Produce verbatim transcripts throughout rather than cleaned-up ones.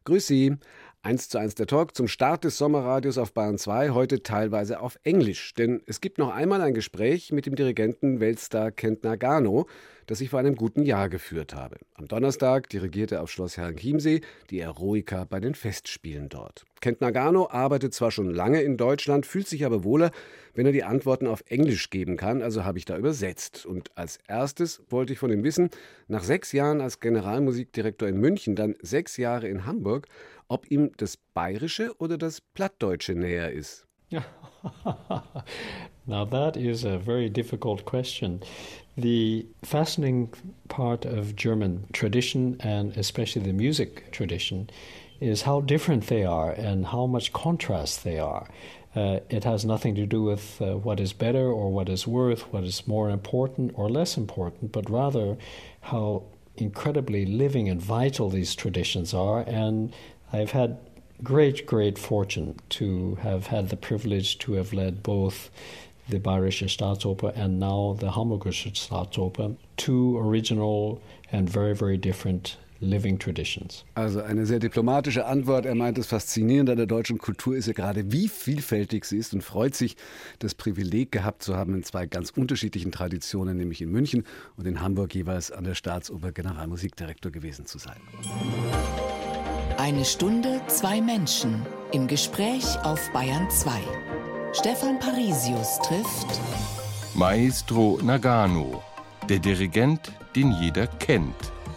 Grüß Sie. Eins zu eins der Talk zum Start des Sommerradios auf Bayern zwei, heute teilweise auf Englisch. Denn es gibt noch einmal ein Gespräch mit dem Dirigenten Weltstar Kent Nagano, das ich vor einem guten Jahr geführt habe. Am Donnerstag dirigierte er auf Schloss Herrenchiemsee die Eroica bei den Festspielen dort. Kent Nagano arbeitet zwar schon lange in Deutschland, fühlt sich aber wohler, wenn er die Antworten auf Englisch geben kann, also habe ich da übersetzt. Und als erstes wollte ich von ihm wissen, nach sechs Jahren als Generalmusikdirektor in München, dann sechs Jahre in Hamburg, ob ihm das Bayerische oder das Plattdeutsche näher ist. Now that is a very difficult question. The fascinating part of German tradition, and especially the music tradition, is how different they are and how much contrast they are. Uh, it has nothing to do with uh, what is better or what is worth, what is more important or less important, but rather how incredibly living and vital these traditions are. And I've had great, great fortune to have had the privilege to have led both the Bayerische Staatsoper and now the Hamburgische Staatsoper, two original and very, very different living traditions. Also eine sehr diplomatische Antwort. Er meint, das Faszinierende an der deutschen Kultur ist ja gerade, wie vielfältig sie ist und freut sich, das Privileg gehabt zu haben, in zwei ganz unterschiedlichen Traditionen, nämlich in München und in Hamburg jeweils an der Staatsoper Generalmusikdirektor gewesen zu sein. Eine Stunde, zwei Menschen im Gespräch auf Bayern zwei. Stefan Parisius trifft Maestro Nagano, der Dirigent, den jeder kennt.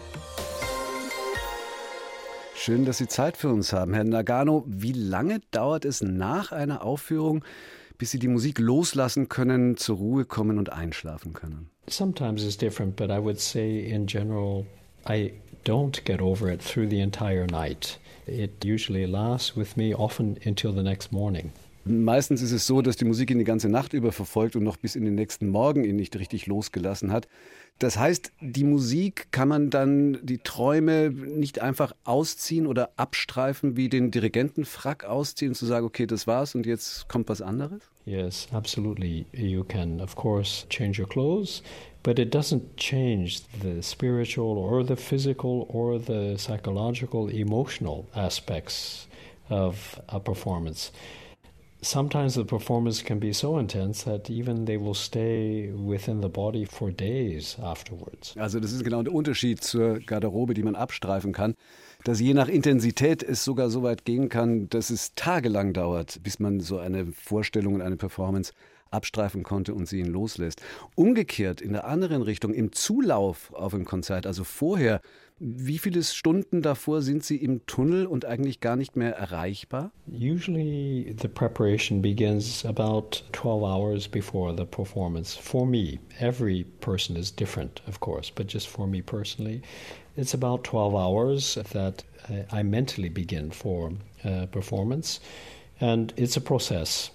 Schön, dass Sie Zeit für uns haben, Herr Nagano. Wie lange dauert es nach einer Aufführung, bis Sie die Musik loslassen können, zur Ruhe kommen und einschlafen können? Sometimes it's different, but I would say in general, I don't get over it through the entire night. It usually lasts with me often until the next morning. Meistens ist es so, dass die Musik ihn die ganze Nacht über verfolgt und noch bis in den nächsten Morgen ihn nicht richtig losgelassen hat. Das heißt, die Musik kann man dann die Träume nicht einfach ausziehen oder abstreifen, wie den Dirigentenfrack ausziehen, zu sagen, okay, das war's und jetzt kommt was anderes? Yes, absolutely. You can, of course, change your clothes, but it doesn't change the spiritual or the physical or the psychological, emotional aspects of a performance. Sometimes the performance can be so intense that even they will stay within the body for days afterwards. Also das ist genau der Unterschied zur Garderobe, die man abstreifen kann, dass je nach Intensität es sogar so weit gehen kann, dass es tagelang dauert, bis man so eine Vorstellung und eine Performance abstreifen konnte und sie ihn loslässt. Umgekehrt, in der anderen Richtung, im Zulauf auf ein Konzert, also vorher, wie viele Stunden davor sind Sie im Tunnel und eigentlich gar nicht mehr erreichbar? Usually the preparation begins about twelve hours before the performance. For me, every person is different, of course, but just for me personally, it's about twelve hours that I mentally begin for a performance, and it's a process.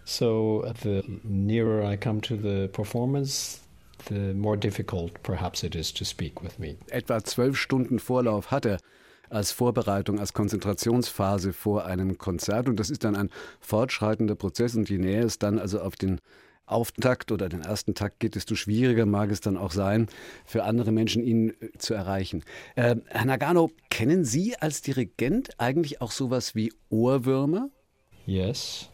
So the nearer I come to the performance, the more difficult perhaps it is to speak with me. Etwa zwölf Stunden Vorlauf hat er als Vorbereitung, als Konzentrationsphase vor einem Konzert. Und das ist dann ein fortschreitender Prozess. Und je näher es dann also auf den Auftakt oder den ersten Takt geht, desto schwieriger mag es dann auch sein, für andere Menschen ihn zu erreichen. Äh, Herr Nagano, kennen Sie als Dirigent eigentlich auch sowas wie Ohrwürmer? Yes.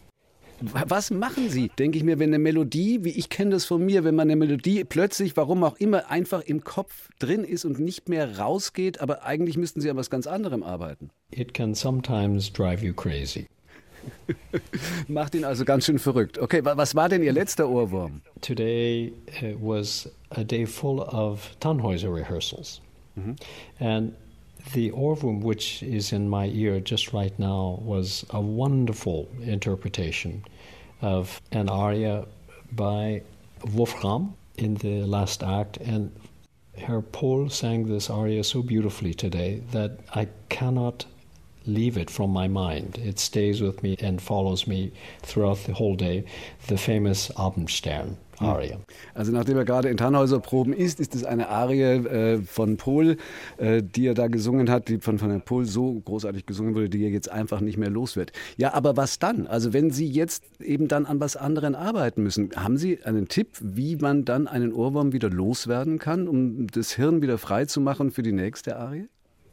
Was machen Sie, denke ich mir, wenn eine Melodie, wie ich kenne das von mir, wenn man eine Melodie plötzlich, warum auch immer, einfach im Kopf drin ist und nicht mehr rausgeht, aber eigentlich müssten Sie an was ganz anderem arbeiten. It can sometimes drive you crazy. Macht ihn also ganz schön verrückt. Okay, was war denn Ihr letzter Ohrwurm? Today uh, was a day full of Tannhäuser rehearsals. Mm-hmm. And the Ohrwurm, which is in my ear just right now, was a wonderful interpretation of an aria by Wolfram in the last act. And Herr Pohl sang this aria so beautifully today that I cannot leave it from my mind. It stays with me and follows me throughout the whole day. The famous Abendstern Aria. Also nachdem er gerade in Tannhäuser-Proben ist, ist es eine Arie äh, von Pohl, äh, die er da gesungen hat, die von, von Herrn Pohl so großartig gesungen wurde, die er jetzt einfach nicht mehr los wird. Ja, aber was dann? Also wenn Sie jetzt eben dann an was anderem arbeiten müssen, haben Sie einen Tipp, wie man dann einen Ohrwurm wieder loswerden kann, um das Hirn wieder frei zu machen für die nächste Arie?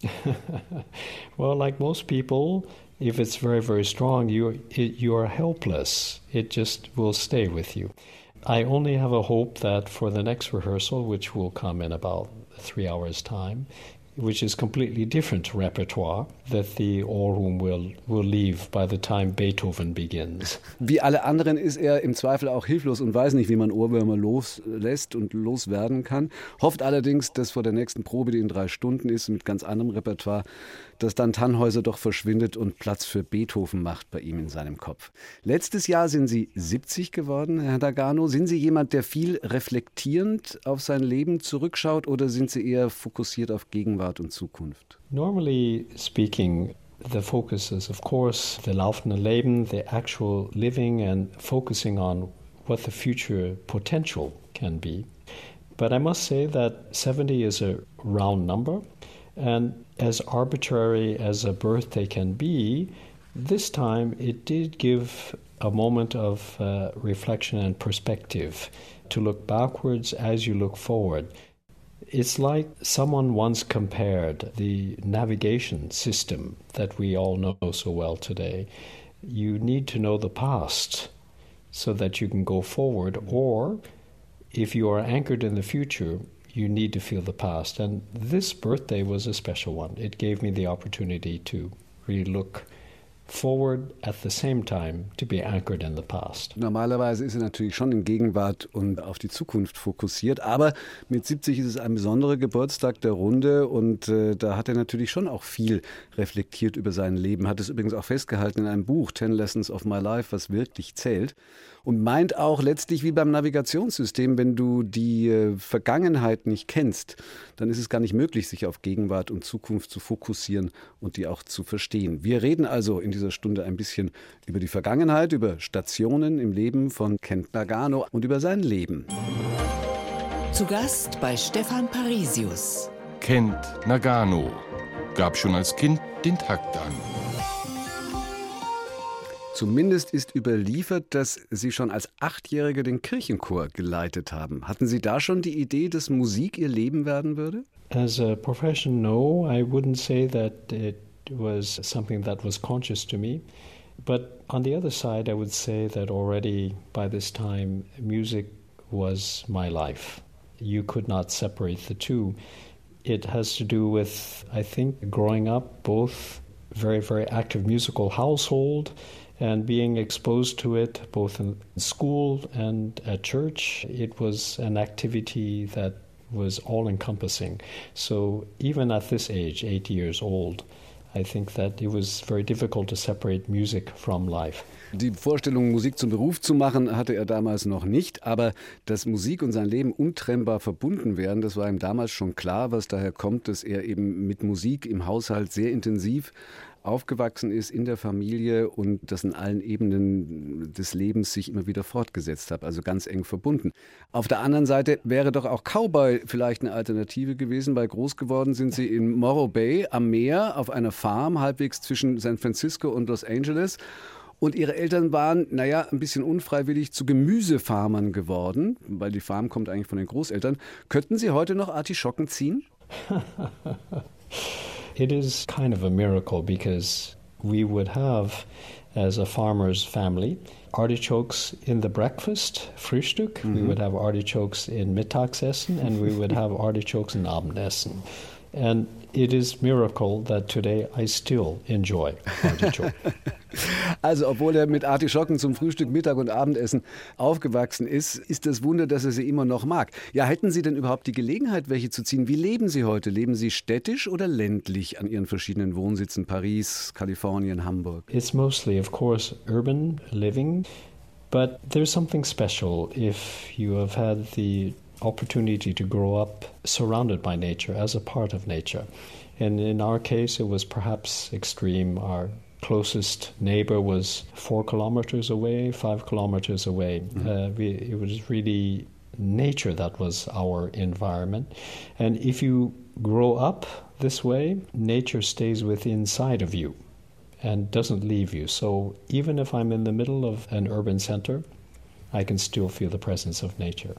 Well, like most people, if it's very, very strong, you it, you are helpless. It just will stay with you. I only have a hope that for the next rehearsal, which will come in about three hours' time, which is completely different repertoire, that the Ohrwurm will, will leave by the time Beethoven begins. Wie alle anderen ist er im Zweifel auch hilflos und weiß nicht, wie man Ohrwürmer loslässt und loswerden kann. Hofft allerdings, dass vor der nächsten Probe, die in drei Stunden ist, mit ganz anderem Repertoire, dass dann Tannhäuser doch verschwindet und Platz für Beethoven macht bei ihm in seinem Kopf. Letztes Jahr sind Sie siebzig geworden, Herr Nagano. Sind Sie jemand, der viel reflektierend auf sein Leben zurückschaut oder sind Sie eher fokussiert auf Gegenwart und Zukunft? Normally speaking, the focus is of course the laufende Leben, the actual living and focusing on what the future potential can be. But I must say that seventy is a round number. And as arbitrary as a birthday can be, this time it did give a moment of uh, reflection and perspective to look backwards as you look forward. It's like someone once compared the navigation system that we all know so well today. You need to know the past so that you can go forward, or if you are anchored in the future, you need to feel the past. And this birthday was a special one. It gave me the opportunity to really look forward at the same time to be anchored in the past. Normalerweise ist er natürlich schon in Gegenwart und auf die Zukunft fokussiert, aber mit siebzig ist es ein besonderer Geburtstag der Runde und äh, da hat er natürlich schon auch viel reflektiert über sein Leben, hat es übrigens auch festgehalten in einem Buch, Ten Lessons of My Life, was wirklich zählt. Und meint auch letztlich wie beim Navigationssystem, wenn du die äh, Vergangenheit nicht kennst, dann ist es gar nicht möglich, sich auf Gegenwart und Zukunft zu fokussieren und die auch zu verstehen. Wir reden also in dieser Stunde ein bisschen über die Vergangenheit, über Stationen im Leben von Kent Nagano und über sein Leben. Zu Gast bei Stefan Parisius. Kent Nagano gab schon als Kind den Takt an. Zumindest ist überliefert, dass Sie schon als Achtjährige den Kirchenchor geleitet haben. Hatten Sie da schon die Idee, dass Musik Ihr Leben werden würde? As a profession, no. I wouldn't say that it was something that was conscious to me. But on the other side, I would say that already by this time, music was my life. You could not separate the two. It has to do with, I think, growing up, both very, very active musical household and being exposed to it both in school and at church. It was an activity that was all-encompassing. So even at this age, eight years old, I think that it was very difficult to separate music from life. Die Vorstellung, Musik zum Beruf zu machen, hatte er damals noch nicht, aber dass Musik und sein Leben untrennbar verbunden wären, das war ihm damals schon klar, was daher kommt, dass er eben mit Musik im Haushalt sehr intensiv aufgewachsen ist in der Familie und das in allen Ebenen des Lebens sich immer wieder fortgesetzt hat, also ganz eng verbunden. Auf der anderen Seite wäre doch auch Cowboy vielleicht eine Alternative gewesen, weil groß geworden sind Sie in Morro Bay am Meer auf einer Farm, halbwegs zwischen San Francisco und Los Angeles. Und Ihre Eltern waren, naja, ein bisschen unfreiwillig zu Gemüsefarmern geworden, weil die Farm kommt eigentlich von den Großeltern. Könnten Sie heute noch Artischocken ziehen? It is kind of a miracle because we would have, as a farmer's family, artichokes in the breakfast, Frühstück. Mm-hmm. We would have artichokes in Mittagsessen, and we would have artichokes in Abendessen. And it is a miracle that today I still enjoy artichoke. Also obwohl er mit Artischocken zum Frühstück, Mittag und Abendessen aufgewachsen ist, ist das Wunder, dass er sie immer noch mag. Ja, hätten Sie denn überhaupt die Gelegenheit, welche zu ziehen? Wie leben Sie heute? Leben Sie städtisch oder ländlich an Ihren verschiedenen Wohnsitzen? Paris, Kalifornien, Hamburg? It's mostly, of course, urban living, but there's something special if you have had the opportunity to grow up surrounded by nature, as a part of nature. And in our case, it was perhaps extreme. Our closest neighbor was four kilometers away, five kilometers away. Mm-hmm. Uh, we, it was really nature that was our environment. And if you grow up this way, nature stays within inside of you and doesn't leave you. So even if I'm in the middle of an urban center, I can still feel the presence of nature.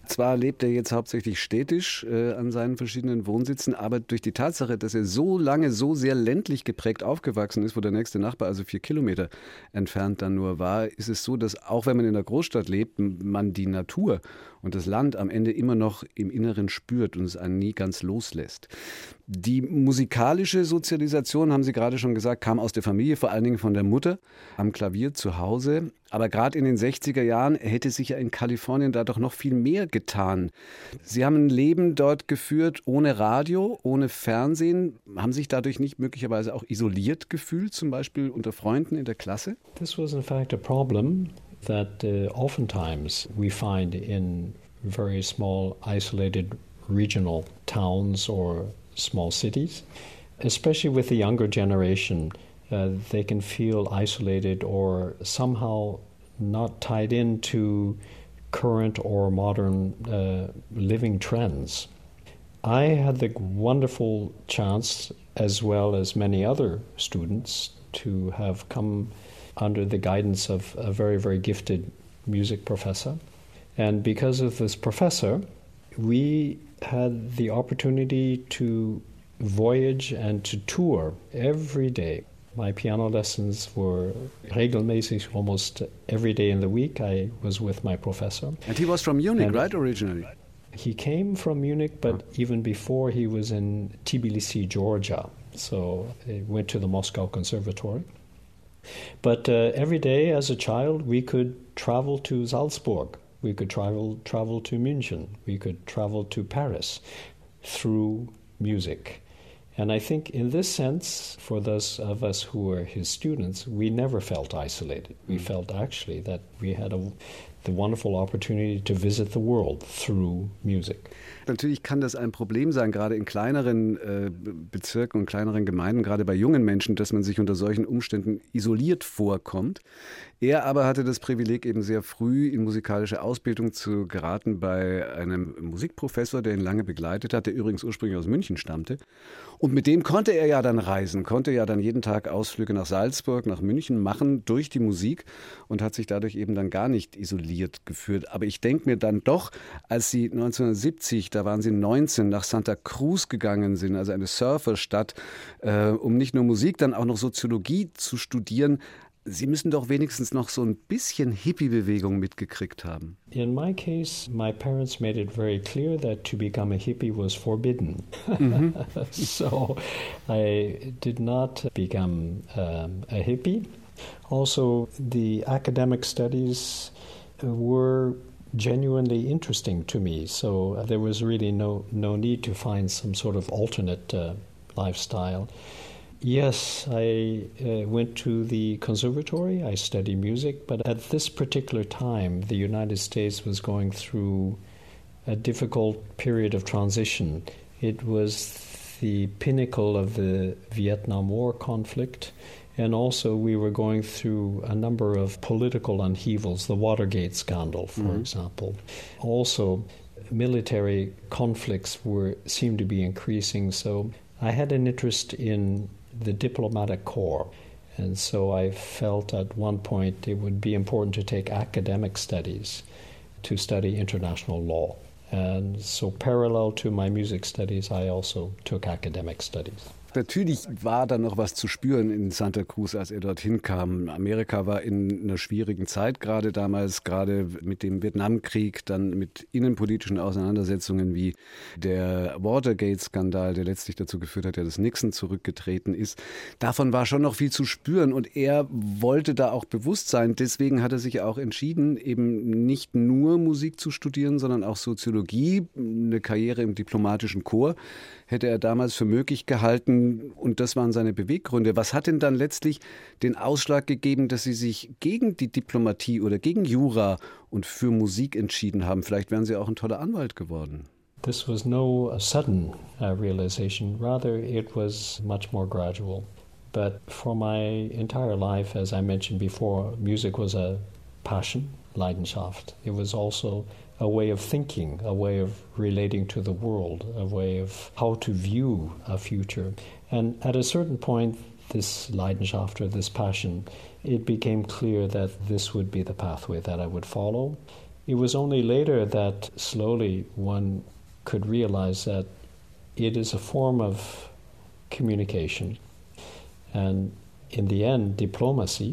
Zwar lebt er jetzt hauptsächlich städtisch äh, an seinen verschiedenen Wohnsitzen, aber durch die Tatsache, dass er so lange so sehr ländlich geprägt aufgewachsen ist, wo der nächste Nachbar also vier Kilometer entfernt dann nur war, ist es so, dass auch wenn man in der Großstadt lebt, man die Natur und das Land am Ende immer noch im Inneren spürt und es einen nie ganz loslässt. Die musikalische Sozialisation, haben Sie gerade schon gesagt, kam aus der Familie, vor allen Dingen von der Mutter am Klavier zu Hause. Aber gerade in den sechziger Jahren hätte sich ja in Kalifornien da doch noch viel mehr getan. Sie haben ein Leben dort geführt ohne Radio, ohne Fernsehen. Haben sich dadurch nicht möglicherweise auch isoliert gefühlt, zum Beispiel unter Freunden in der Klasse? This was in fact a problem that uh, oftentimes we find in very small, isolated regional towns or small cities, especially with the younger generation. Uh, they can feel isolated or somehow not tied into current or modern uh, living trends. I had the wonderful chance, as well as many other students, to have come under the guidance of a very, very gifted music professor. And because of this professor, we had the opportunity to voyage and to tour every day. My piano lessons were regelmäßig, almost every day in the week. I was with my professor. And he was from Munich, and right, originally? He came from Munich, but huh. even before he was in Tbilisi, Georgia. So he went to the Moscow Conservatory. But uh, every day as a child, we could travel to Salzburg. We could travel travel to München. We could travel to Paris through music. And I think in this sense, for those of us who were his students, we never felt isolated. We mm. felt actually that we had a, the wonderful opportunity to visit the world through music. Natürlich kann das ein Problem sein, gerade in kleineren äh, Bezirken und kleineren Gemeinden, gerade bei jungen Menschen, dass man sich unter solchen Umständen isoliert vorkommt. Er aber hatte das Privileg, eben sehr früh in musikalische Ausbildung zu geraten bei einem Musikprofessor, der ihn lange begleitet hat, der übrigens ursprünglich aus München stammte. Und mit dem konnte er ja dann reisen, konnte ja dann jeden Tag Ausflüge nach Salzburg, nach München machen durch die Musik und hat sich dadurch eben dann gar nicht isoliert gefühlt. Aber ich denke mir dann doch, als Sie neunzehnhundertsiebzig, da waren Sie neunzehn, nach Santa Cruz gegangen sind, also eine Surferstadt, äh, um nicht nur Musik, dann auch noch Soziologie zu studieren, Sie müssen doch wenigstens noch so ein bisschen Hippie-Bewegung mitgekriegt haben. In my case, my parents made it very clear that to become a hippie was forbidden. Mm-hmm. So I did not become um, a hippie. Also, the academic studies were genuinely interesting to me. So there was really no, no need to find some sort of alternate uh, lifestyle. Yes, I uh, went to the conservatory. I studied music, but at this particular time, the United States was going through a difficult period of transition. It was the pinnacle of the Vietnam War conflict, and also we were going through a number of political upheavals, the Watergate scandal, for mm-hmm. example. Also, military conflicts were seemed to be increasing, so I had an interest in the diplomatic corps. And so I felt at one point it would be important to take academic studies to study international law. And so parallel to my music studies, I also took academic studies. Natürlich war da noch was zu spüren in Santa Cruz, als er dorthin kam. Amerika war in einer schwierigen Zeit gerade damals, gerade mit dem Vietnamkrieg, dann mit innenpolitischen Auseinandersetzungen wie der Watergate-Skandal, der letztlich dazu geführt hat, dass Nixon zurückgetreten ist. Davon war schon noch viel zu spüren und er wollte da auch bewusst sein. Deswegen hat er sich auch entschieden, eben nicht nur Musik zu studieren, sondern auch Soziologie, eine Karriere im diplomatischen Korps hätte er damals für möglich gehalten und das waren seine Beweggründe. Was hat denn dann letztlich den Ausschlag gegeben, dass Sie sich gegen die Diplomatie oder gegen Jura und für Musik entschieden haben? Vielleicht wären Sie auch ein toller Anwalt geworden. This was no sudden uh, realization. Rather, it was much more gradual. But for my entire life, as I mentioned before, music was a passion, Leidenschaft. It was also a way of thinking, a way of relating to the world, a way of how to view a future. And at a certain point, this Leidenschaft or this passion, it became clear that this would be the pathway that I would follow. It was only later that slowly one could realize that it is a form of communication. And in the end, diplomacy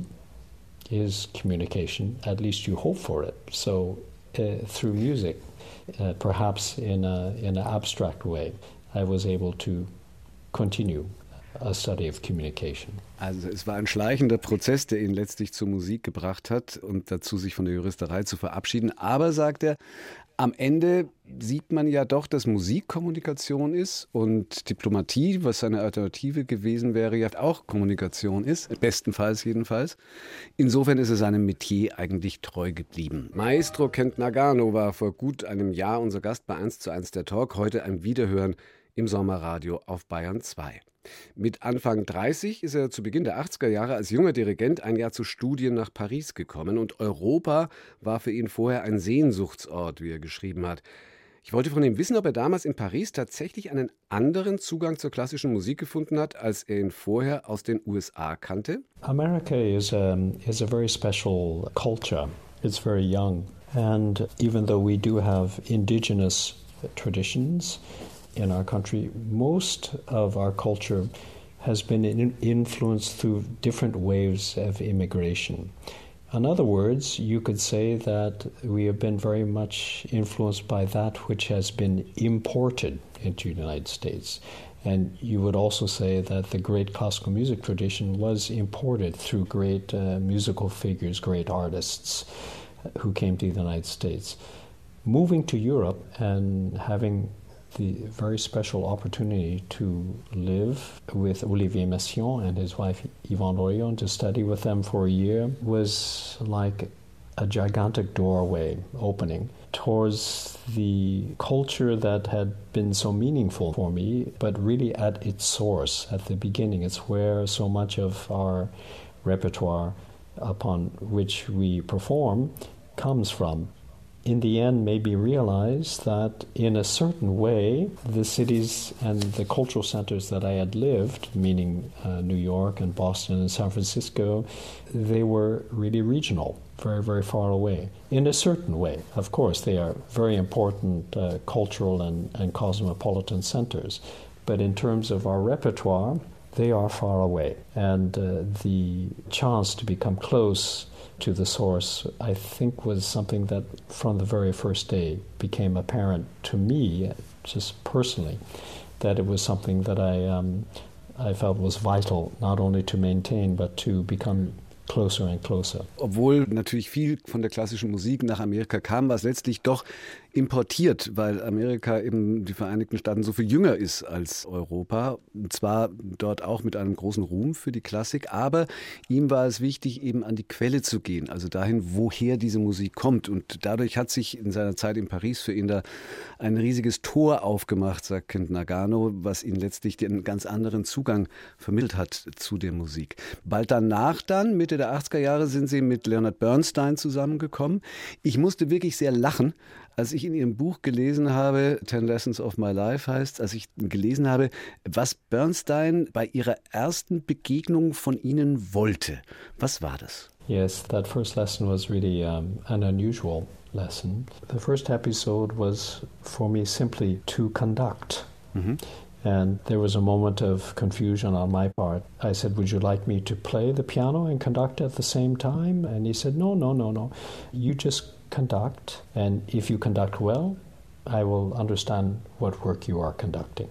is communication, at least you hope for it. So uh, through music, uh, perhaps in a, in an abstract way, I was able to continue a study of communication. Also es war ein schleichender Prozess, der ihn letztlich zur Musik gebracht hat und dazu, sich von der Juristerei zu verabschieden. Aber, sagt er, am Ende sieht man ja doch, dass Musik Kommunikation ist und Diplomatie, was seine Alternative gewesen wäre, ja auch Kommunikation ist, bestenfalls jedenfalls. Insofern ist er seinem Metier eigentlich treu geblieben. Maestro Kent Nagano war vor gut einem Jahr unser Gast bei eins zu eins der Talk, heute ein Wiederhören im Sommerradio auf Bayern zwei. Mit Anfang dreißig ist er zu Beginn der achtziger Jahre als junger Dirigent ein Jahr zu Studien nach Paris gekommen und Europa war für ihn vorher ein Sehnsuchtsort, wie er geschrieben hat. Ich wollte von ihm wissen, ob er damals in Paris tatsächlich einen anderen Zugang zur klassischen Musik gefunden hat, als er ihn vorher aus den U S A kannte. America is a, is a very special culture. It's very young. And even though we do have indigenous traditions in our country, most of our culture has been in influenced through different waves of immigration. In other words, you could say that we have been very much influenced by that which has been imported into the United States. And you would also say that the great classical music tradition was imported through great uh, musical figures, great artists who came to the United States. Moving to Europe and having the very special opportunity to live with Olivier Messiaen and his wife Yvonne Orion, to study with them for a year, was like a gigantic doorway opening towards the culture that had been so meaningful for me, but really at its source, at the beginning. It's where so much of our repertoire upon which we perform comes from. In the end, maybe realize that in a certain way, the cities and the cultural centers that I had lived, meaning uh, New York and Boston and San Francisco, they were really regional, very, very far away. In a certain way, of course, they are very important uh, cultural and, and cosmopolitan centers. But in terms of our repertoire, they are far away. And uh, the chance to become close to the source, I think, was something that from the very first day became apparent to me, just personally, that it was something that I um, I felt was vital, not only to maintain, but to become closer and closer. Obwohl natürlich viel von der klassischen Musik nach Amerika kam, war es letztlich doch importiert, weil Amerika eben, die Vereinigten Staaten, so viel jünger ist als Europa. Und zwar dort auch mit einem großen Ruhm für die Klassik, aber ihm war es wichtig, eben an die Quelle zu gehen, also dahin, woher diese Musik kommt. Und dadurch hat sich in seiner Zeit in Paris für ihn da ein riesiges Tor aufgemacht, sagt Kent Nagano, was ihn letztlich einen ganz anderen Zugang vermittelt hat zu der Musik. Bald danach dann, Mitte der achtziger Jahre, sind sie mit Leonard Bernstein zusammengekommen. Ich musste wirklich sehr lachen, als ich in Ihrem Buch gelesen habe, Ten Lessons of My Life heißt, als ich gelesen habe, was Bernstein bei Ihrer ersten Begegnung von Ihnen wollte. Was war das? Yes, that first lesson was really um, an unusual lesson. The first episode was for me simply to conduct. Mm-hmm. And there was a moment of confusion on my part. I said, would you like me to play the piano and conduct at the same time? And he said, no, no, no, no. You just conduct, and if you conduct well, I will understand what work you are conducting.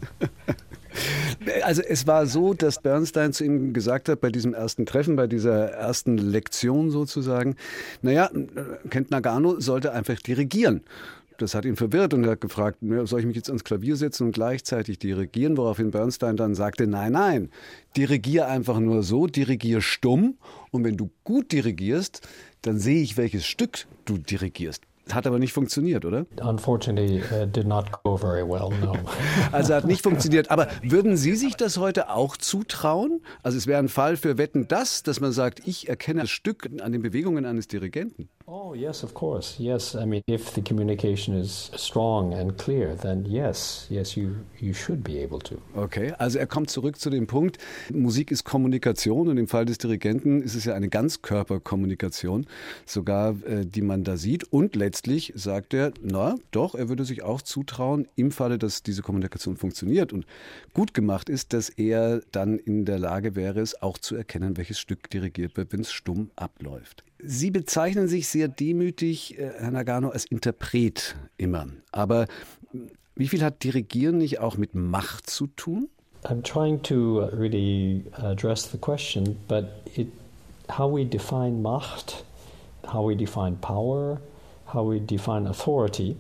Also es war so, dass Bernstein zu ihm gesagt hat, bei diesem ersten Treffen, bei dieser ersten Lektion sozusagen, naja, Kent Nagano sollte einfach dirigieren. Das hat ihn verwirrt und er hat gefragt, soll ich mich jetzt ans Klavier setzen und gleichzeitig dirigieren? Woraufhin Bernstein dann sagte, nein, nein, dirigier einfach nur so, dirigier stumm. Und wenn du gut dirigierst, dann sehe ich, welches Stück du dirigierst. Hat aber nicht funktioniert, oder? Unfortunately, it did not go very well, no. Also hat nicht funktioniert. Aber würden Sie sich das heute auch zutrauen? Also es wäre ein Fall für Wetten, dass, dass man sagt, ich erkenne das Stück an den Bewegungen eines Dirigenten. Oh, yes, of course. Yes, I mean, if the communication is strong and clear, then yes, yes, you, you should be able to. Okay, also er kommt zurück zu dem Punkt, Musik ist Kommunikation und im Fall des Dirigenten ist es ja eine Ganzkörperkommunikation, sogar äh, die man da sieht. Und letztlich sagt er, na doch, er würde sich auch zutrauen, im Falle, dass diese Kommunikation funktioniert und gut gemacht ist, dass er dann in der Lage wäre, es auch zu erkennen, welches Stück dirigiert wird, wenn es stumm abläuft. Sie bezeichnen sich sehr demütig, Herr Nagano, als Interpret immer. Aber wie viel hat Dirigieren nicht auch mit Macht zu tun? I'm trying to really address the question, but it, how we define Macht, how we define power, how we define authority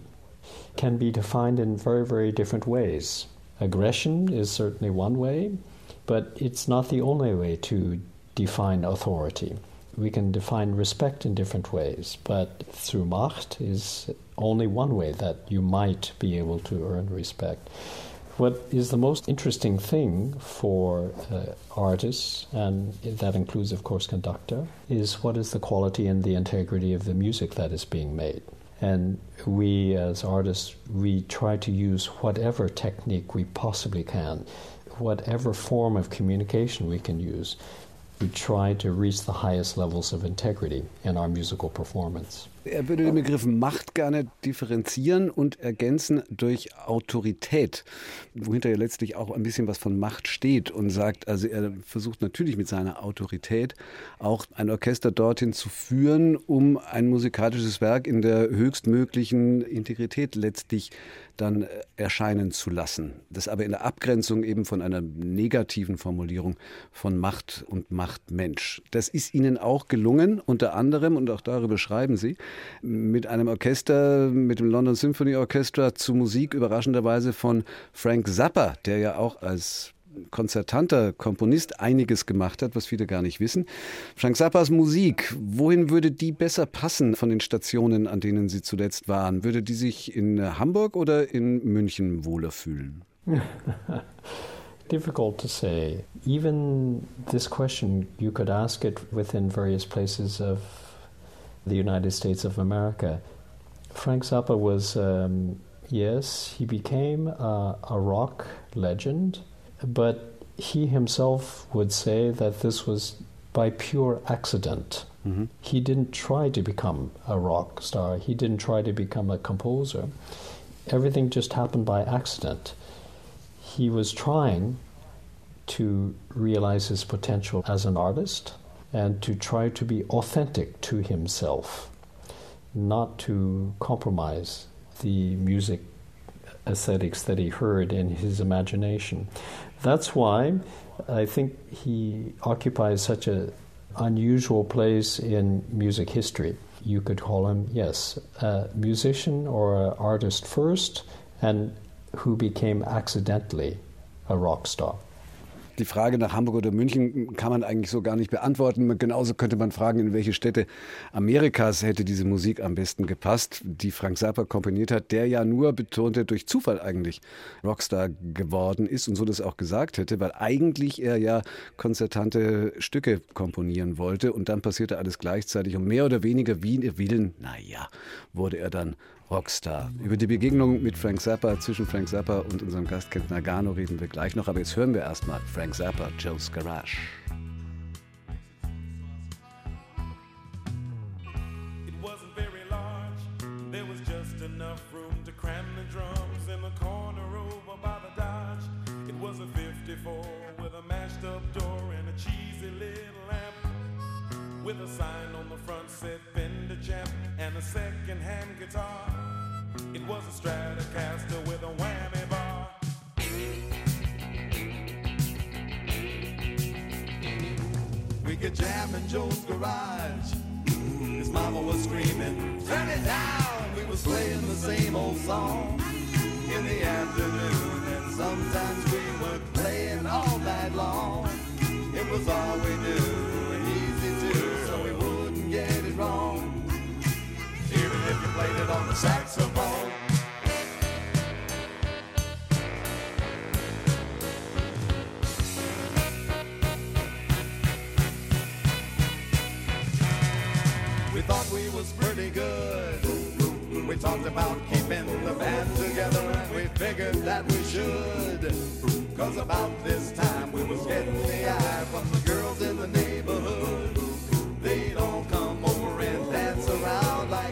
can be defined in very, very different ways. Aggression is certainly one way, but it's not the only way to define authority. We can define respect in different ways, but through Macht is only one way that you might be able to earn respect. What is the most interesting thing for uh, artists, and that includes, of course, conductor, is what is the quality and the integrity of the music that is being made. And we, as artists, we try to use whatever technique we possibly can, whatever form of communication we can use. We try to reach the highest levels of integrity in our musical performance. Er würde den Begriff Macht gerne differenzieren und ergänzen durch Autorität, wohinter ja letztlich auch ein bisschen was von Macht steht und sagt, also er versucht natürlich mit seiner Autorität auch ein Orchester dorthin zu führen, um ein musikalisches Werk in der höchstmöglichen Integrität letztlich dann erscheinen zu lassen. Das aber in der Abgrenzung eben von einer negativen Formulierung von Macht und Machtmensch. Das ist Ihnen auch gelungen, unter anderem, und auch darüber schreiben Sie, mit einem Orchester, mit dem London Symphony Orchestra zu Musik überraschenderweise von Frank Zappa, der ja auch als konzertanter Komponist einiges gemacht hat, was viele gar nicht wissen. Frank Zappas Musik, wohin würde die besser passen von den Stationen, an denen Sie zuletzt waren? Würde die sich in Hamburg oder in München wohler fühlen? Difficult to say. Even this question, you could ask it within various places of the United States of America. Frank Zappa was, um, yes, he became a, a rock legend, but he himself would say that this was by pure accident. Mm-hmm. He didn't try to become a rock star. He didn't try to become a composer. Everything just happened by accident. He was trying to realize his potential as an artist and to try to be authentic to himself, not to compromise the music aesthetics that he heard in his imagination. That's why I think he occupies such an unusual place in music history. You could call him, yes, a musician or an artist first, and who became accidentally a rock star. Die Frage nach Hamburg oder München kann man eigentlich so gar nicht beantworten. Genauso könnte man fragen, in welche Städte Amerikas hätte diese Musik am besten gepasst, die Frank Zappa komponiert hat, der ja nur, betonte, durch Zufall eigentlich Rockstar geworden ist und so das auch gesagt hätte, weil eigentlich er ja konzertante Stücke komponieren wollte und dann passierte alles gleichzeitig und mehr oder weniger wie in Willen, naja, wurde er dann Rockstar. Über die Begegnung mit Frank Zappa, zwischen Frank Zappa und unserem Gast Kent Nagano reden wir gleich noch, aber jetzt hören wir erstmal Frank Zappa, Joe's Garage. It wasn't very large, there was just enough room to cram the drums in the corner over by the Dodge. It was a fifty-four with a mashed up door and a cheesy little amp, with a sign on the front said Fender Champ and a second-hand guitar. It was a Stratocaster with a whammy bar. We could jam in Joe's garage. His mama was screaming, turn it down. We was playing the same old song in the afternoon, and sometimes we were playing all night long. It was all we knew, and easy too, so we wouldn't get it wrong, even if you played it on the saxophone. We thought we was pretty good. We talked about keeping the band together, and we figured that we should. Cause about this time we was getting the eye from the girls in the neighborhood. They don't come over and dance around like.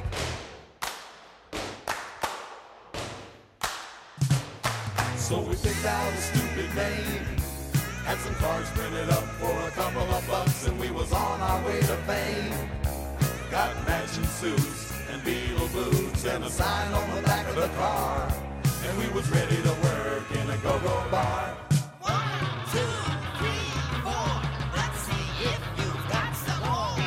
So we picked out a stupid name, had some cards printed up for a couple of bucks, and we was on our way to fame. Got matching suits and Beatle boots and a sign on the back of the car, and we was ready to work in a go-go bar. One, two, three, four. Let's see if you've got some more.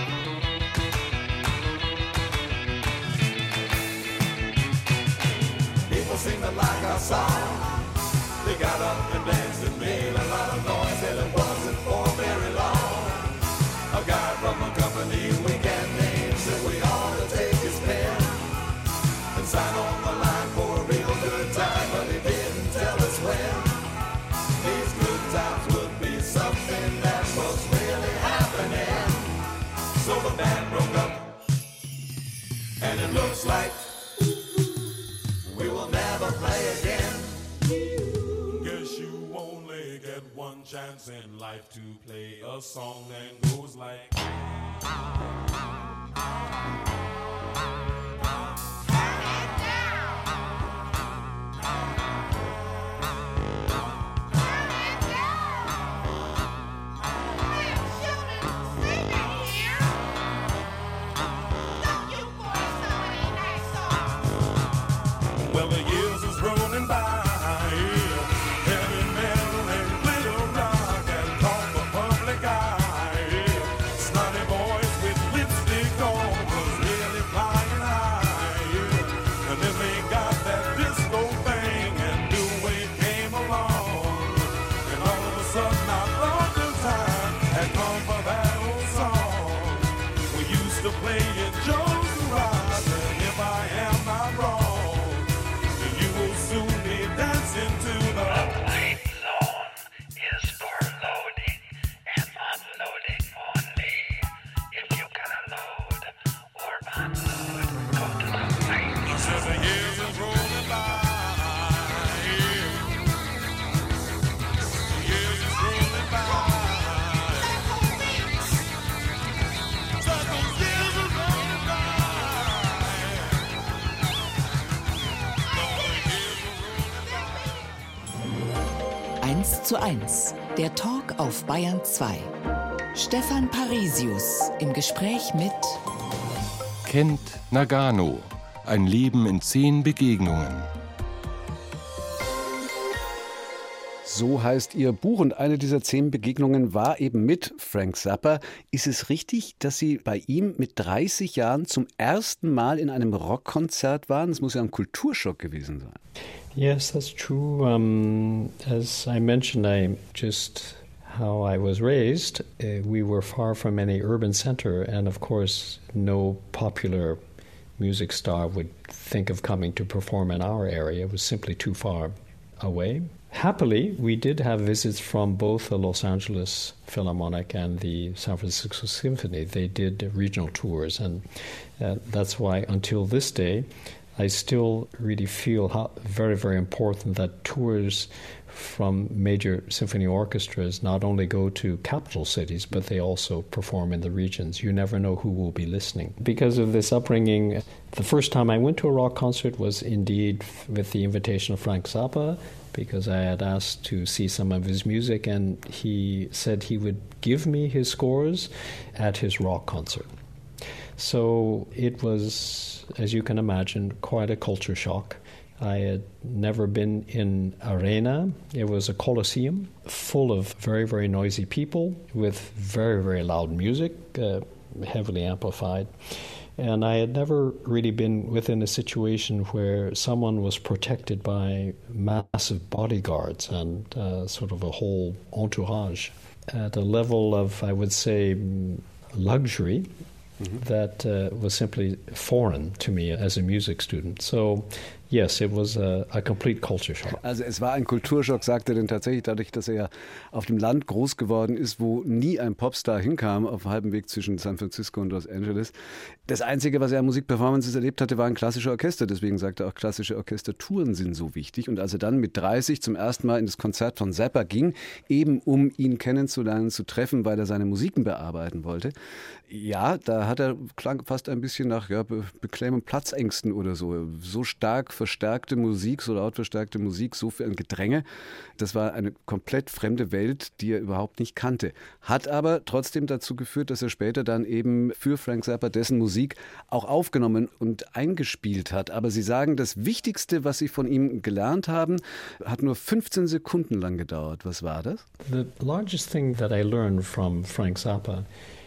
People seemed to like our song. They got up and danced and made a lot of noise, and it wasn't for very long. A guy from a company we can't name said we ought to take his pen and sign on the line for a real good time, but he didn't tell us when. These good times would be something that was really happening. So the band broke up, and it looks like we will never play again. Guess you only get one chance in life to play a song that goes like. Well, the years is rolling by, heavy metal and glitter rock and caught the public eye. Snotty boys with lipstick on was really flying high. And then they got that disco thing and New Wave came along. And all of a sudden I thought the time had come for that old song. We used to play it Joe's Garage, and if I am not wrong, soon be dancing to the light zone is for loading and unloading only. If you can load or unload, go to the light zone. Says the years is rolling by. The years is rolling by. Says those years is rolling by. eins zu eins, der Talk auf Bayern zwei. Stefan Parisius im Gespräch mit Kent Nagano. Ein Leben in zehn Begegnungen. So heißt Ihr Buch, und eine dieser zehn Begegnungen war eben mit Frank Zappa. Ist es richtig, dass Sie bei ihm mit dreißig Jahren zum ersten Mal in einem Rockkonzert waren? Das muss ja ein Kulturschock gewesen sein. Yes, that's true. Um, as I mentioned, I just how I was raised, uh, we were far from any urban center, and of course, no popular music star would think of coming to perform in our area. It was simply too far away. Happily, we did have visits from both the Los Angeles Philharmonic and the San Francisco Symphony. They did regional tours, and uh, that's why until this day, I still really feel how very, very important that tours from major symphony orchestras not only go to capital cities, but they also perform in the regions. You never know who will be listening. Because of this upbringing, the first time I went to a rock concert was indeed with the invitation of Frank Zappa, because I had asked to see some of his music, and he said he would give me his scores at his rock concert. So it was, as you can imagine, quite a culture shock. I had never been in arena. It was a coliseum full of very, very noisy people with very, very loud music, uh, heavily amplified. And I had never really been within a situation where someone was protected by massive bodyguards and uh, sort of a whole entourage at a level of, I would say, luxury. Mm-hmm. That uh, was simply foreign to me as a music student. So Yes, it was a, a complete culture shock. Also es war ein Kulturschock, sagt er denn tatsächlich, dadurch, dass er ja auf dem Land groß geworden ist, wo nie ein Popstar hinkam, auf halbem Weg zwischen San Francisco und Los Angeles. Das Einzige, was er an Musikperformances erlebt hatte, waren klassische Orchester. Deswegen sagt er auch, klassische Orchestertouren sind so wichtig. Und als er dann mit dreißig zum ersten Mal in das Konzert von Zappa ging, eben um ihn kennenzulernen, zu treffen, weil er seine Musiken bearbeiten wollte, ja, da hat er, klang fast ein bisschen nach ja, Be- Beklemmung, Platzängsten oder so. So stark verstärkte Musik, so laut verstärkte Musik, so viel ein Gedränge. Das war eine komplett fremde Welt, die er überhaupt nicht kannte. Hat aber trotzdem dazu geführt, dass er später dann eben für Frank Zappa dessen Musik auch aufgenommen und eingespielt hat. Aber Sie sagen, das Wichtigste, was Sie von ihm gelernt haben, hat nur fünfzehn Sekunden lang gedauert. Was war das? The largest thing that I learned from Frank Zappa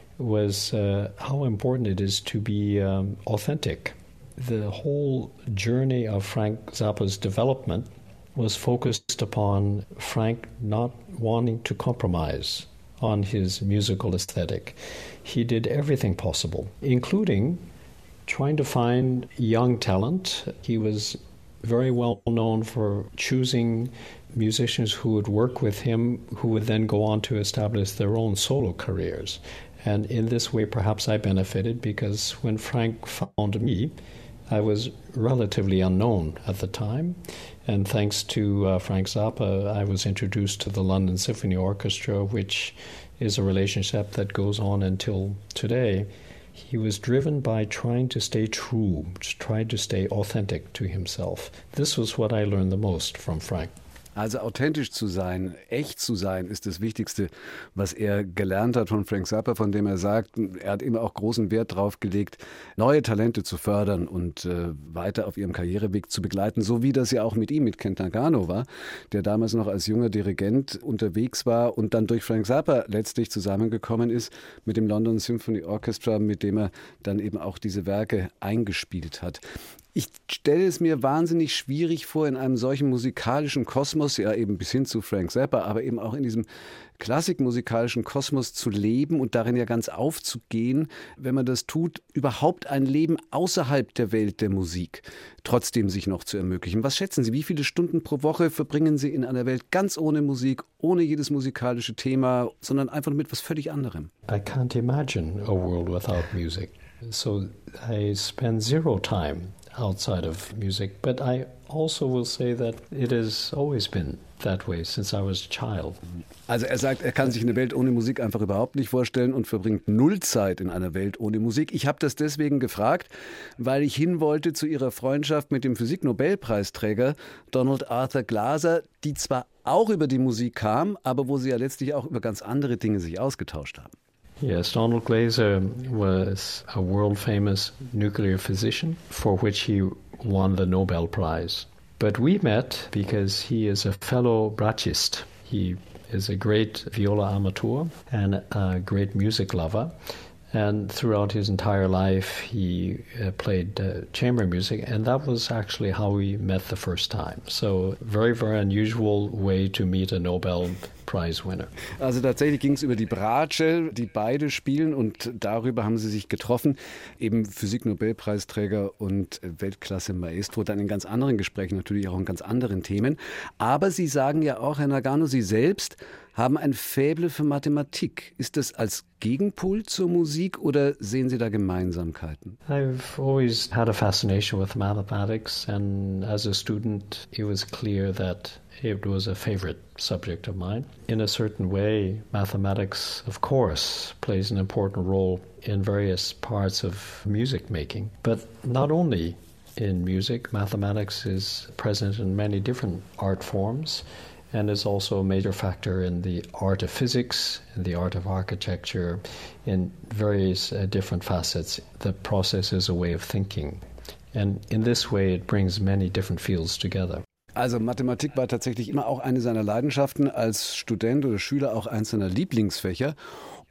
was uh, how important it is to be um, authentic. The whole journey of Frank Zappa's development was focused upon Frank not wanting to compromise on his musical aesthetic. He did everything possible, including trying to find young talent. He was very well known for choosing musicians who would work with him, who would then go on to establish their own solo careers. And in this way, perhaps I benefited, because when Frank found me, I was relatively unknown at the time. And thanks to uh, Frank Zappa, I was introduced to the London Symphony Orchestra, which is a relationship that goes on until today. He was driven by trying to stay true, trying to stay authentic to himself. This was what I learned the most from Frank. Also authentisch zu sein, echt zu sein, ist das Wichtigste, was er gelernt hat von Frank Zappa, von dem er sagt, er hat immer auch großen Wert drauf gelegt, neue Talente zu fördern und äh, weiter auf ihrem Karriereweg zu begleiten, so wie das ja auch mit ihm, mit Kent Nagano war, der damals noch als junger Dirigent unterwegs war und dann durch Frank Zappa letztlich zusammengekommen ist mit dem London Symphony Orchestra, mit dem er dann eben auch diese Werke eingespielt hat. Ich stelle es mir wahnsinnig schwierig vor, in einem solchen musikalischen Kosmos, ja eben bis hin zu Frank Zappa, aber eben auch in diesem klassikmusikalischen Kosmos zu leben und darin ja ganz aufzugehen, wenn man das tut, überhaupt ein Leben außerhalb der Welt der Musik trotzdem sich noch zu ermöglichen. Was schätzen Sie, wie viele Stunden pro Woche verbringen Sie in einer Welt ganz ohne Musik, ohne jedes musikalische Thema, sondern einfach mit was völlig anderem? I can't imagine a world without music. So I spend zero time outside of music, but I also will say that it has always been that way since I was a child. Also er sagt, er kann sich eine Welt ohne Musik einfach überhaupt nicht vorstellen und verbringt null Zeit in einer Welt ohne Musik. Ich habe das deswegen gefragt, weil ich hin wollte zu ihrer Freundschaft mit dem Physiknobelpreisträger Donald Arthur Glaser, die zwar auch über die Musik kam, aber wo sie ja letztlich auch über ganz andere Dinge sich ausgetauscht haben. Yes, Donald Glaser was a world-famous nuclear physician for which he won the Nobel Prize. But we met because he is a fellow bratschist. He is a great viola amateur and a great music lover. And throughout his entire life, he uh, played uh, chamber music, and that was actually how we met the first time. So, very, very unusual way to meet a Nobel Prize winner. Also tatsächlich ging es über die Bratsche, die beide spielen, und darüber haben sie sich getroffen. Eben Physik-Nobelpreisträger und Weltklasse-Maestro, dann in ganz anderen Gesprächen, natürlich auch in ganz anderen Themen. Aber Sie sagen ja auch, Herr Nagano, Sie selbst haben ein Faible für Mathematik. Ist das als Gegenpol zur Musik oder sehen Sie da Gemeinsamkeiten? I've always had a fascination with mathematics, and as a student it was clear that it was a favorite subject of mine. In a certain way, mathematics, of course, plays an important role in various parts of music making, but not only in music. Mathematics is present in many different art forms, and is also a major factor in the art of physics, in the art of architecture, in various uh, different facets. The process is a way of thinking. And in this way, it brings many different fields together. Also Mathematik war tatsächlich immer auch eine seiner Leidenschaften, als Student oder Schüler auch eins seiner Lieblingsfächer.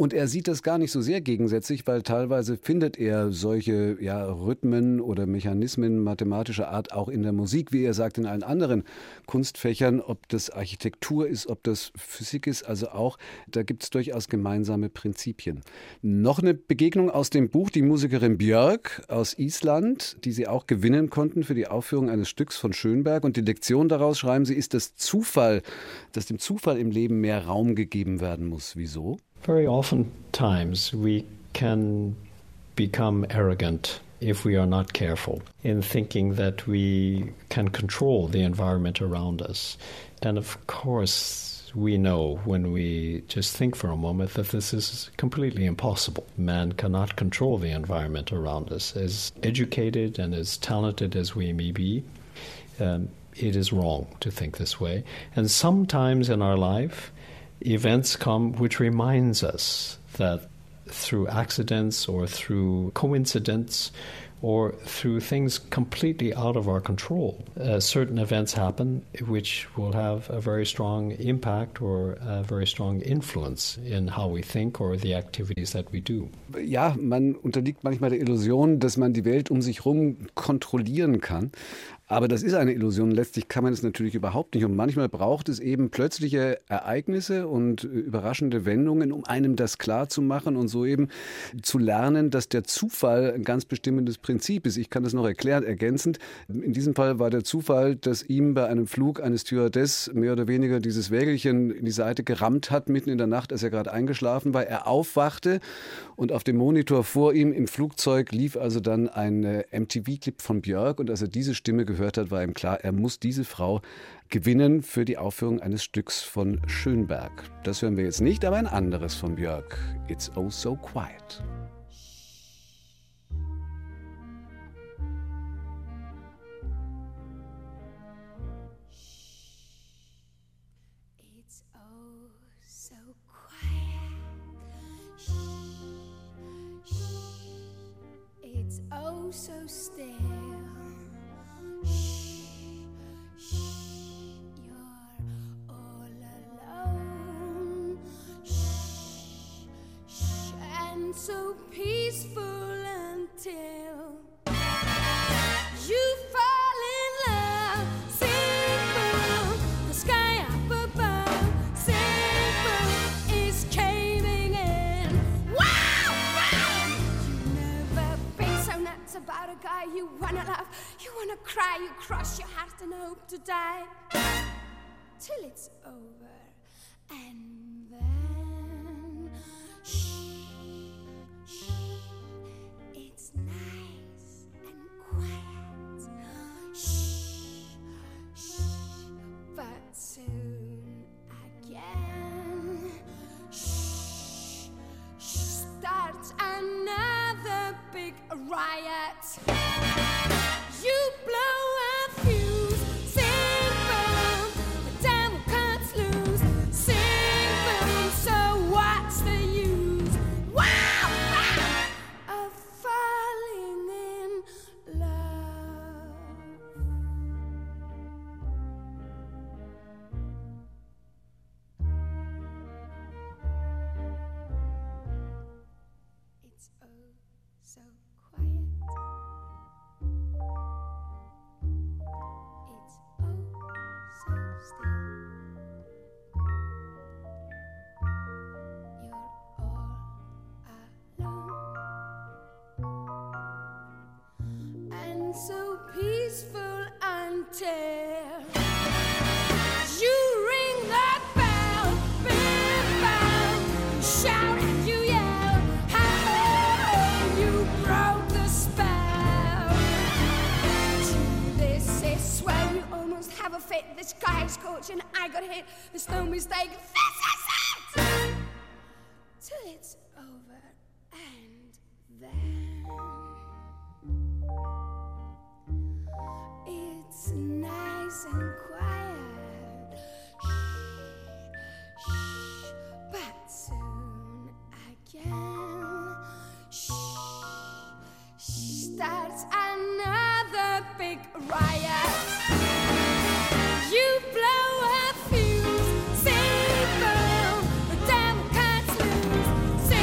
Und er sieht das gar nicht so sehr gegensätzlich, weil teilweise findet er solche ja, Rhythmen oder Mechanismen mathematischer Art auch in der Musik, wie er sagt, in allen anderen Kunstfächern, ob das Architektur ist, ob das Physik ist, also auch, da gibt es durchaus gemeinsame Prinzipien. Noch eine Begegnung aus dem Buch, die Musikerin Björk aus Island, die sie auch gewinnen konnten für die Aufführung eines Stücks von Schönberg. Und die Lektion daraus, schreiben sie, ist das Zufall, dass dem Zufall im Leben mehr Raum gegeben werden muss. Wieso? Very often times we can become arrogant if we are not careful in thinking that we can control the environment around us. And of course, we know when we just think for a moment that this is completely impossible. Man cannot control the environment around us. As educated and as talented as we may be, um, it is wrong to think this way. And sometimes in our life, events come which reminds us that through accidents or through coincidence or through things completely out of our control, uh, certain events happen which will have a very strong impact or a very strong influence in how we think or the activities that we do. Ja, man unterliegt manchmal der Illusion, dass man die Welt um sich herum kontrollieren kann. Aber das ist eine Illusion. Letztlich kann man es natürlich überhaupt nicht. Und manchmal braucht es eben plötzliche Ereignisse und überraschende Wendungen, um einem das klar zu machen und so eben zu lernen, dass der Zufall ein ganz bestimmendes Prinzip ist. Ich kann das noch erklären, ergänzend. In diesem Fall war der Zufall, dass ihm bei einem Flug eine Stewardess mehr oder weniger dieses Wägelchen in die Seite gerammt hat, mitten in der Nacht, als er gerade eingeschlafen war. Er aufwachte und auf dem Monitor vor ihm im Flugzeug lief also dann ein M T V-Clip von Björk. Und als er diese Stimme gehört hat, war ihm klar, er muss diese Frau gewinnen für die Aufführung eines Stücks von Schönberg. Das hören wir jetzt nicht, aber ein anderes von Björk. It's Oh So Quiet. It's oh so quiet. Shh, shh. It's oh so still. So peaceful until you fall in love. Simple, the sky up above. Simple is caving in. Wow, wow! You never been so nuts about a guy you wanna love. You wanna cry, you cross your heart and hope to die till it's over. And then shh. It's nice and quiet. Shh, shh. But soon again, shh, shh. Starts another big riot. You blow a fuse. Sing boom, the devil cuts loose. Sing boom, so what's the use? Wow! Of falling in love. It's oh so quiet. It's oh so still. You're all alone. And so peaceful until you ring that bell, big bell, shout and you yell, how you broke the spell. This is swell, you almost have a fit. This guy is scorching, I got hit. There's no mistake. This is it. Till it's over, and then it's nice and quiet. Shh, shh. But soon again, shh, shh. Starts another big riot. You blow a fuse. Sing boom, the devil cuts loose. Sing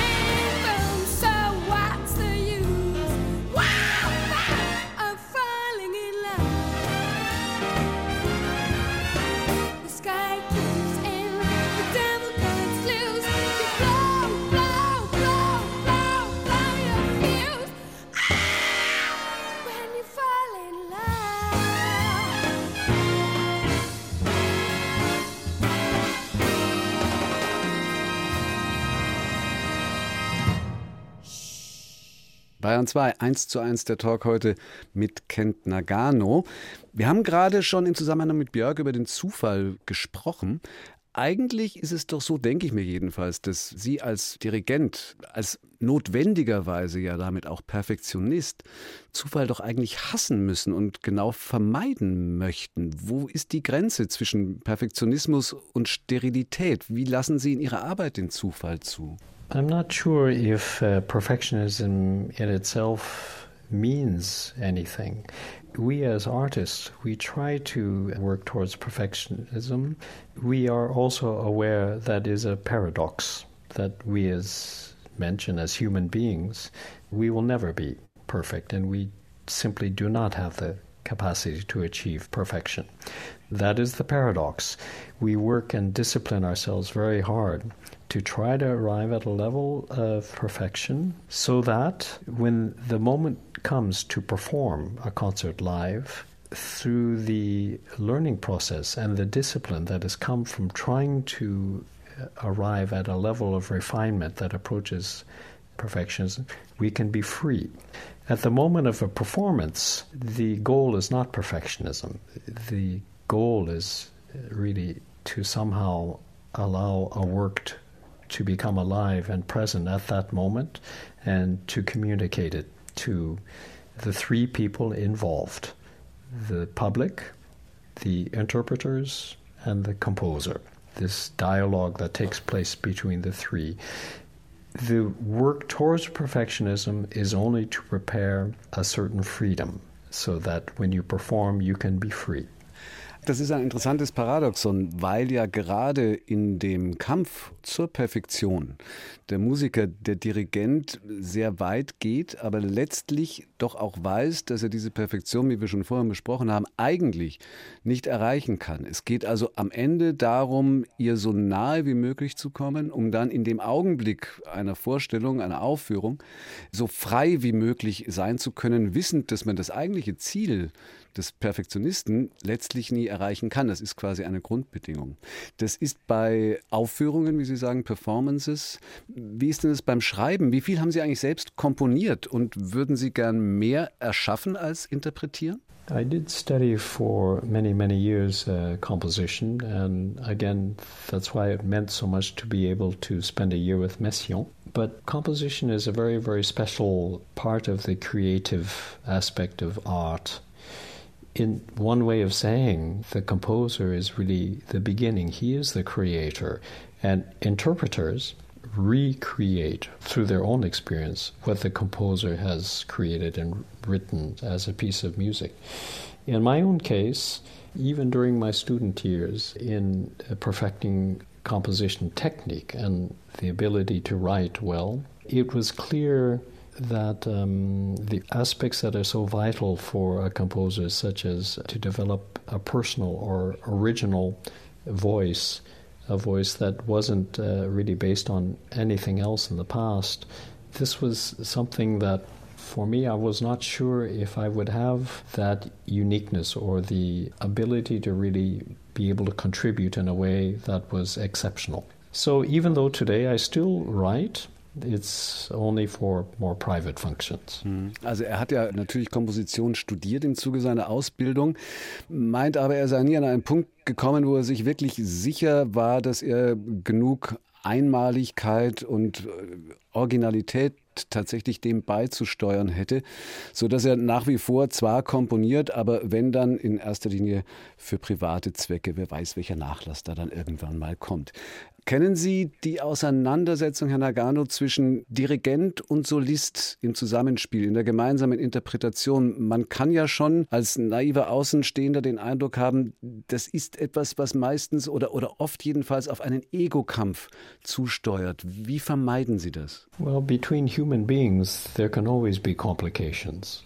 Bayern zwei, eins zu eins der Talk heute mit Kent Nagano. Wir haben gerade schon im Zusammenhang mit Björk über den Zufall gesprochen. Eigentlich ist es doch so, denke ich mir jedenfalls, dass Sie als Dirigent, als notwendigerweise ja damit auch Perfektionist, Zufall doch eigentlich hassen müssen und genau vermeiden möchten. Wo ist die Grenze zwischen Perfektionismus und Sterilität? Wie lassen Sie in Ihrer Arbeit den Zufall zu? I'm not sure if uh, perfectionism in itself means anything. We as artists, we try to work towards perfectionism. We are also aware that is a paradox, that we as mentioned, as human beings, we will never be perfect, and we simply do not have the capacity to achieve perfection. That is the paradox. We work and discipline ourselves very hard to try to arrive at a level of perfection so that when the moment comes to perform a concert live, through the learning process and the discipline that has come from trying to arrive at a level of refinement that approaches perfectionism, we can be free. At the moment of a performance, the goal is not perfectionism. The goal is really to somehow allow a work to to become alive and present at that moment and to communicate it to the three people involved, the public, the interpreters, and the composer. This dialogue that takes place between the three. The work towards perfectionism is only to prepare a certain freedom so that when you perform, you can be free. Das ist ein interessantes Paradoxon, weil ja gerade in dem Kampf zur Perfektion der Musiker, der Dirigent sehr weit geht, aber letztlich doch auch weiß, dass er diese Perfektion, wie wir schon vorhin besprochen haben, eigentlich nicht erreichen kann. Es geht also am Ende darum, ihr so nahe wie möglich zu kommen, um dann in dem Augenblick einer Vorstellung, einer Aufführung, so frei wie möglich sein zu können, wissend, dass man das eigentliche Ziel des Perfektionisten letztlich nie erreichen kann. Das ist quasi eine Grundbedingung. Das ist bei Aufführungen, wie Sie sagen, Performances. Wie ist denn das beim Schreiben? Wie viel haben Sie eigentlich selbst komponiert und würden Sie gern mehr erschaffen als interpretieren? I did study for many, many years uh, composition, and again, that's why it meant so much to be able to spend a year with Messiaen. But composition is a very, very special part of the creative aspect of art. In one way of saying, the composer is really the beginning. He is the creator. And interpreters recreate through their own experience what the composer has created and written as a piece of music. In my own case, even during my student years in perfecting composition technique and the ability to write well, it was clear that um, the aspects that are so vital for a composer, such as to develop a personal or original voice, a voice that wasn't uh, really based on anything else in the past, this was something that, for me, I was not sure if I would have that uniqueness or the ability to really be able to contribute in a way that was exceptional. So even though today I still write, it's only for more private functions. Also er hat ja natürlich Komposition studiert im Zuge seiner Ausbildung, meint aber, er sei nie an einen Punkt gekommen, wo er sich wirklich sicher war, dass er genug Einmaligkeit und Originalität tatsächlich dem beizusteuern hätte, sodass er nach wie vor zwar komponiert, aber wenn dann in erster Linie für private Zwecke, wer weiß, welcher Nachlass da dann irgendwann mal kommt. Kennen Sie die Auseinandersetzung, Herr Nagano, zwischen Dirigent und Solist im Zusammenspiel, in der gemeinsamen Interpretation? Man kann ja schon als naiver Außenstehender den Eindruck haben, das ist etwas, was meistens oder, oder oft jedenfalls auf einen Ego-Kampf zusteuert. Wie vermeiden Sie das? Well, between human beings, there can always be complications.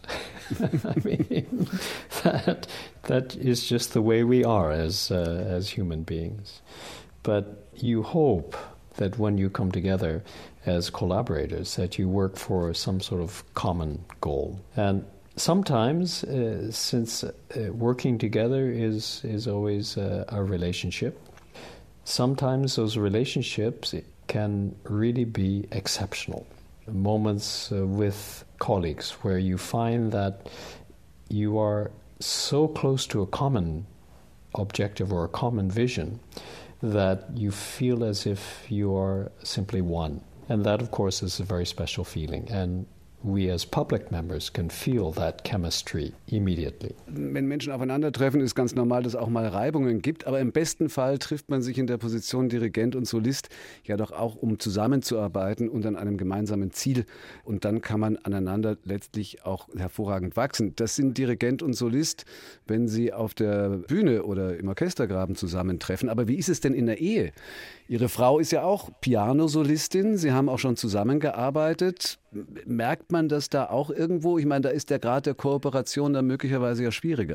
I mean, that, that is just the way we are as, uh, as human beings. But you hope that when you come together as collaborators, that you work for some sort of common goal. And sometimes, uh, since uh, working together is, is always uh, a relationship, sometimes those relationships can really be exceptional. moments uh, with colleagues where you find that you are so close to a common objective or a common vision that you feel as if you are simply one. And that, of course, is a very special feeling. And we as public members can feel that chemistry immediately. Wenn Menschen aufeinandertreffen, ist ganz normal, dass es auch mal Reibungen gibt. Aber im besten Fall trifft man sich in der Position Dirigent und Solist ja doch auch, um zusammenzuarbeiten und an einem gemeinsamen Ziel. Und dann kann man aneinander letztlich auch hervorragend wachsen. Das sind Dirigent und Solist, wenn sie auf der Bühne oder im Orchestergraben zusammentreffen. Aber wie ist es denn in der Ehe? Ihre Frau ist ja auch Pianosolistin. Sie haben auch schon zusammengearbeitet. Merkt man das da auch irgendwo? Ich meine, da ist der Grad der Kooperation dann möglicherweise ja schwieriger.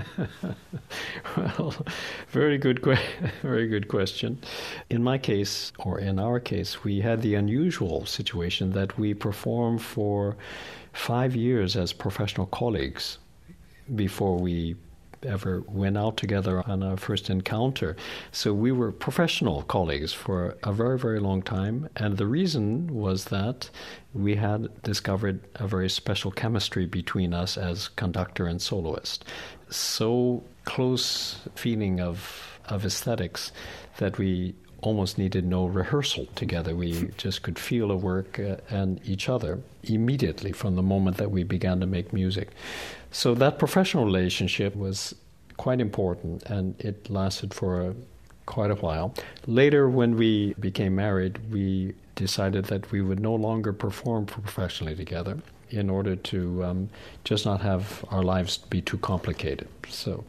Well, very good, que- very good question. In my case, or in our case, we had the unusual situation that we performed for five years as professional colleagues before we ever went out together on our first encounter. So we were professional colleagues for a very, very long time. And the reason was that we had discovered a very special chemistry between us as conductor and soloist. So close feeling of, of aesthetics that we almost needed no rehearsal together. We just could feel the work uh, and each other immediately from the moment that we began to make music. So that professional relationship was quite important, and it lasted for a, quite a while. Later, when we became married, we decided that we would no longer perform professionally together in order to um, just not have our lives be too complicated. So...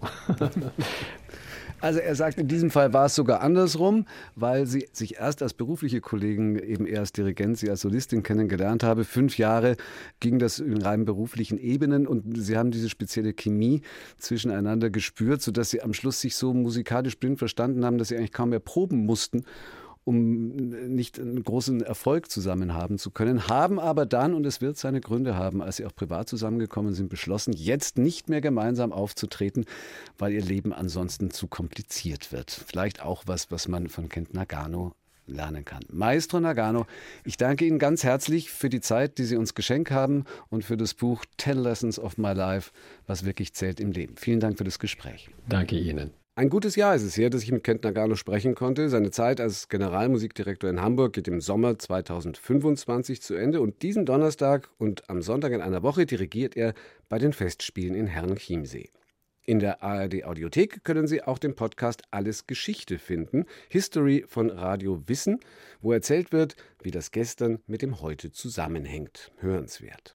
Also er sagt, in diesem Fall war es sogar andersrum, weil sie sich erst als berufliche Kollegen, eben eher als Dirigent, sie als Solistin kennengelernt habe. Fünf Jahre ging das in rein beruflichen Ebenen und sie haben diese spezielle Chemie zwischeneinander gespürt, sodass sie am Schluss sich so musikalisch blind verstanden haben, dass sie eigentlich kaum mehr proben mussten, um nicht einen großen Erfolg zusammen haben zu können, haben aber dann, und es wird seine Gründe haben, als sie auch privat zusammengekommen sind, beschlossen, jetzt nicht mehr gemeinsam aufzutreten, weil ihr Leben ansonsten zu kompliziert wird. Vielleicht auch was, was man von Kent Nagano lernen kann. Maestro Nagano, ich danke Ihnen ganz herzlich für die Zeit, die Sie uns geschenkt haben und für das Buch Ten Lessons of My Life, was wirklich zählt im Leben. Vielen Dank für das Gespräch. Danke Ihnen. Ein gutes Jahr ist es her, dass ich mit Kent Nagano sprechen konnte. Seine Zeit als Generalmusikdirektor in Hamburg geht im Sommer zweitausendfünfundzwanzig zu Ende und diesen Donnerstag und am Sonntag in einer Woche dirigiert er bei den Festspielen in Herrenchiemsee. In der A R D Audiothek können Sie auch den Podcast Alles Geschichte finden, History von Radio Wissen, wo erzählt wird, wie das Gestern mit dem Heute zusammenhängt. Hörenswert.